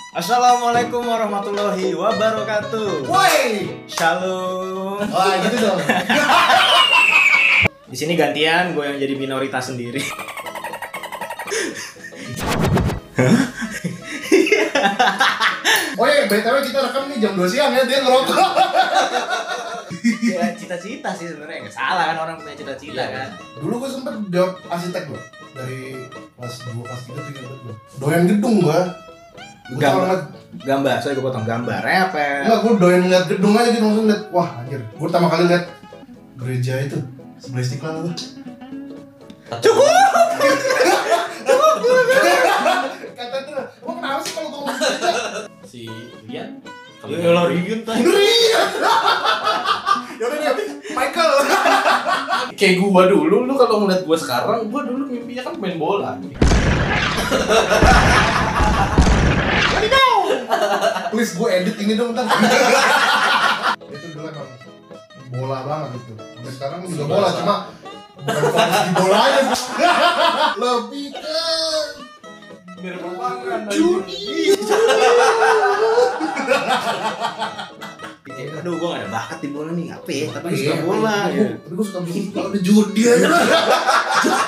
Assalamualaikum warahmatullahi wabarakatuh. Woi, Shalom. wah gitu dong. Di sini gantian gue yang jadi minoritas sendiri. Oh iya, BTW kita rekam nih jam 2 siang ya, dia ngerokok. Ya cita-cita sih sebenarnya, nggak salah kan orang punya cita-cita kan. Dulu gue sempet jawab arsitek gue dari kelas 2, kelas 3 tuh ingat gue. Doyan gedung gue. Gambar, soalnya gue potong gambarnya apa? Enggak, gue doyan ngeliat gedung aja gitu, langsung liat, wah anjir. Gue pertama kali liat gereja itu sebelah Istiqlal tuh. Cukup. Kata tuh, emang kenapa sih kalau ngomong gereja? Si Rian. Kalau Rian tuh. Yaudah nih, Michael. Kayak gua dulu, lu kalau ngeliat gua sekarang, gua dulu mimpinya kan main bola. Please gue edit ini dong ntar. Itu dulu emang bola banget gitu. Sampai sekarang juga bola, cuma bukan fokus di bola aja. Lebih ke judi. Aduh, gue gak ada bakat di bola nih, apa ya? Tapi gue suka bola. Tapi gue suka bola, kalau ada judi aja.